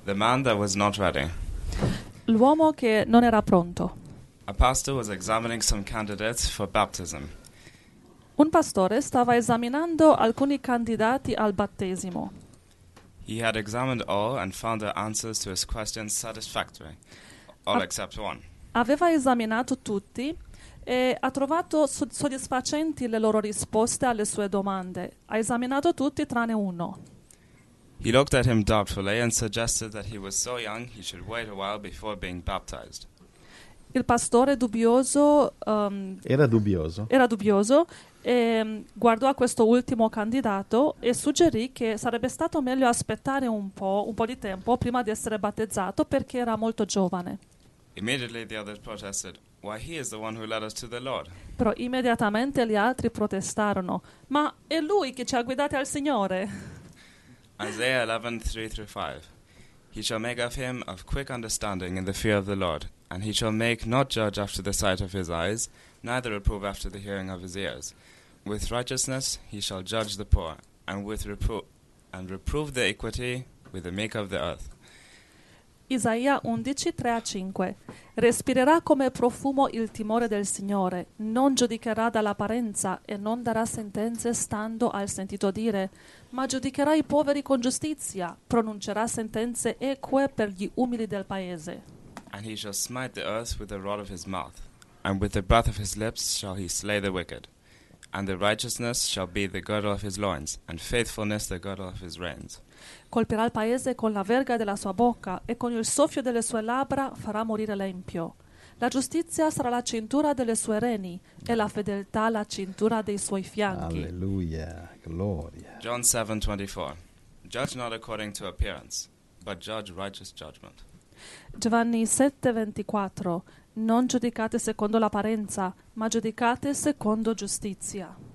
The man that was not ready. L'uomo che non era pronto. A pastor was examining some candidates for baptism. Un pastore stava esaminando alcuni candidati al battesimo. He had examined all and found their answers to his questions satisfactory, all Ah. except one. Aveva esaminato tutti e ha trovato soddisfacenti le loro risposte alle sue domande. Ha esaminato tutti tranne uno. He looked at him doubtfully and suggested that he was so young he should wait a while before being baptized. Il pastore dubbioso Era dubbioso. e guardò a questo ultimo candidato e suggerì che sarebbe stato meglio aspettare un po' di tempo prima di essere battezzato perché era molto giovane. Immediately the others protested, "Why, he is the one who led us to the Lord." Però immediatamente gli altri protestarono: ma è lui che ci ha guidati al Signore. Isaiah 11:3-5. He shall make of him of quick understanding in the fear of the Lord, and he shall make not judge after the sight of his eyes, neither reprove after the hearing of his ears. With righteousness he shall judge the poor, and reprove the equity with the meek of the earth. Isaia 11, 3-5. Respirerà come profumo il timore del Signore, non giudicherà dall'apparenza e non darà sentenze stando al sentito dire, ma giudicherà i poveri con giustizia, pronuncerà sentenze eque per gli umili del paese. And he shall smite the earth with the rod of his mouth, and with the breath of his lips shall he slay the wicked. And the righteousness shall be the girdle of his loins, and faithfulness the girdle of his reins. Colpirà il paese con la verga della sua bocca e con il soffio delle sue labbra farà morire l'empio. La giustizia sarà la cintura delle sue reni e la fedeltà la cintura dei suoi fianchi. Alleluia, gloria. John 7:24. Judge not according to appearance, but judge righteous judgment. Giovanni 7:24. Non giudicate secondo l'apparenza, ma giudicate secondo giustizia.